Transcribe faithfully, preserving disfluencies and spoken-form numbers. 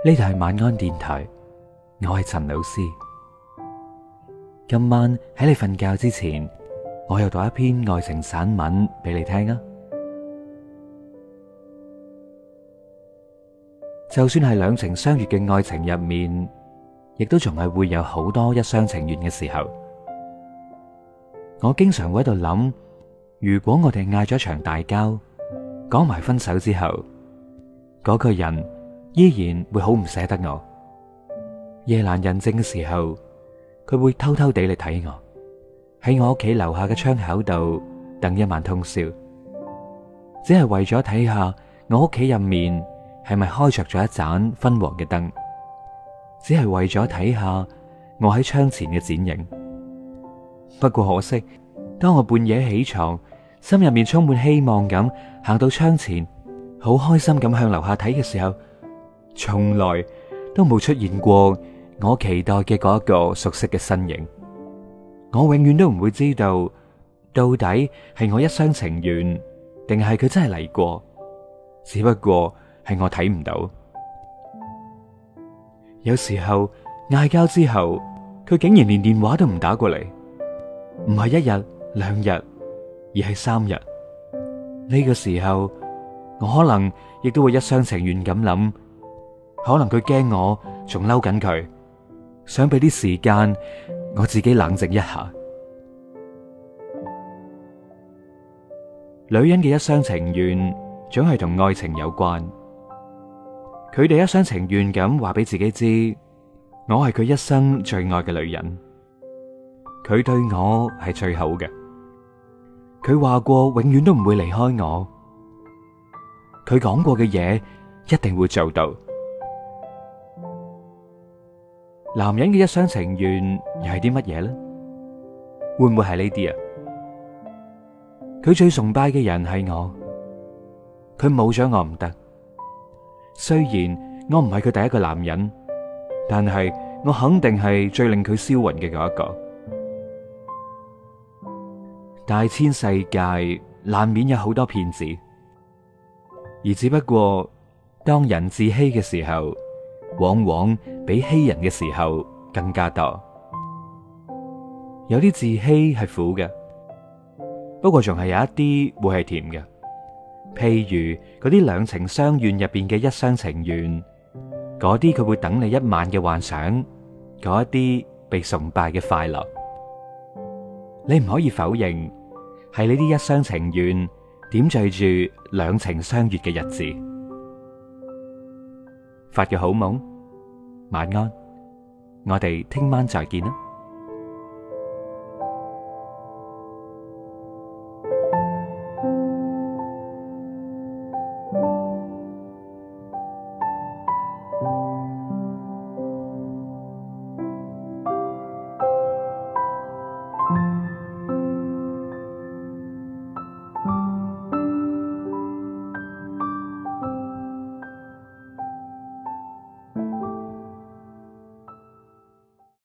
呢度係晚安電台，我係陳老師。今晚喺你瞓覺之前，我又讀一篇愛情散文俾你聽啊！就算係兩情相悅嘅愛情入面，亦都仲係會有好多一廂情願嘅時候。我經常會喺度諗，如果我哋嗌咗一場大交，講埋分手之後，嗰個人依然會好唔捨得我。夜闌人靜嘅時候，佢會偷偷地嚟睇我，喺我屋企樓下嘅窗口度等一晚通宵，只係為咗睇下我屋企入面係咪開着咗一盞昏黃嘅燈，只係為咗睇下我喺窗前嘅剪影。不過可惜，當我半夜起床，心入面充滿希望咁行到窗前，好開心咁向樓下睇嘅時候，從來都冇出現過我期待嘅嗰一個熟悉嘅身影。我永遠都唔會知道，到底係我一廂情願，定係佢真係嚟過，只不過係我睇唔到。有時候嗌交之後，佢竟然連電話都唔打過嚟，唔係一日兩日，而係三日。呢個時候，我可能亦都會一廂情願咁諗，可能佢驚我仲嬲緊佢，想俾啲時間我自己冷靜一下。女人嘅一廂情願總係同愛情有關，佢哋一廂情願咁話俾自己知，我係佢一生最愛嘅女人，佢對我係最好嘅，佢話過永遠都唔會離開我，佢講過嘅嘢一定會做到。男人嘅一廂情願又係啲乜嘢呢？會唔會係呢啲啊？佢最崇拜嘅人係我，佢冇咗我唔得。雖然我唔係佢第一個男人，但係我肯定係最令佢銷魂嘅嗰一個。大千世界難免有好多騙子，而只不過當人自欺嘅時候，往往比欺人嘅時候更加多。有啲自欺係苦嘅，不過仲係有一啲會係甜嘅。譬如嗰啲兩情相願入邊嘅一廂情願，嗰啲佢會等你一晚嘅幻想，嗰一啲被崇拜嘅快樂，你唔可以否認係呢啲一廂情願點綴住兩情相悅嘅日子。發個好夢，晚安，我哋聽晚再見啦。